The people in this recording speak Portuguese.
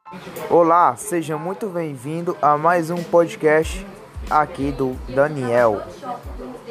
Olá, seja muito bem-vindo a mais um podcast aqui do Daniel.